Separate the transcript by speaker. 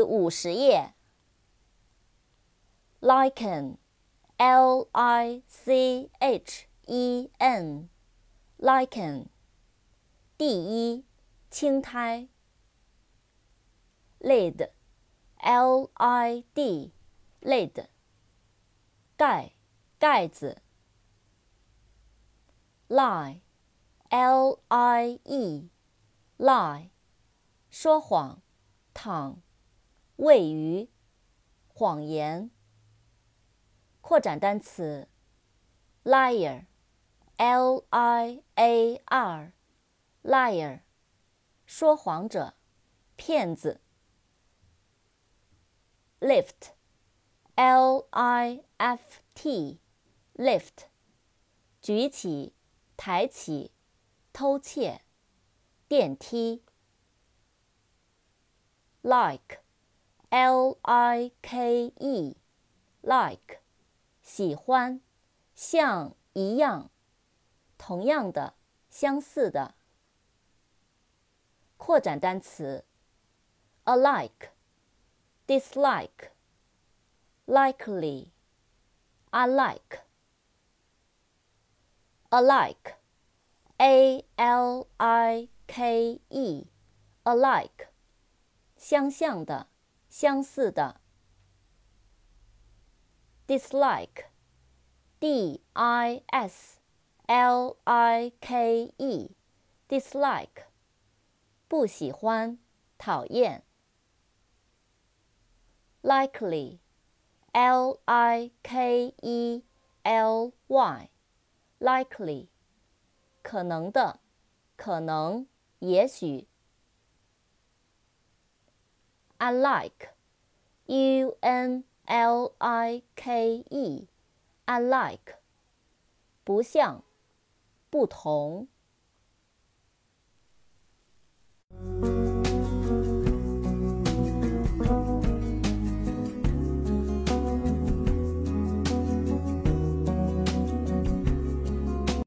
Speaker 1: 50页。Lichen, L-I-C-H-E-N, lichen, 第一，青苔。Lid, L-I-D, lid, 盖，盖子。Lie, L-I-E, lie, 说谎，躺，位于，谎言。扩展单词 liar, L-I-A-R, liar, 说谎者，骗子。Lift, L-I-F-T, lift, 举起，抬起，偷窃，电梯。Like, L-I-K-E, like, 喜欢，像，一样，同样的，相似的。扩展单词 alike, dislike, likely, alike, alike, A-L-I-K-E, alike, 相像的，相似的。Dislike, D-I-S-L-I-K-E, dislike, 不喜欢，讨厌。Likely, L-I-K-E-L-Y, likely, 可能的，可能，也许。Unlike, U-N-L-I-K-E, unlike, 不像，不同。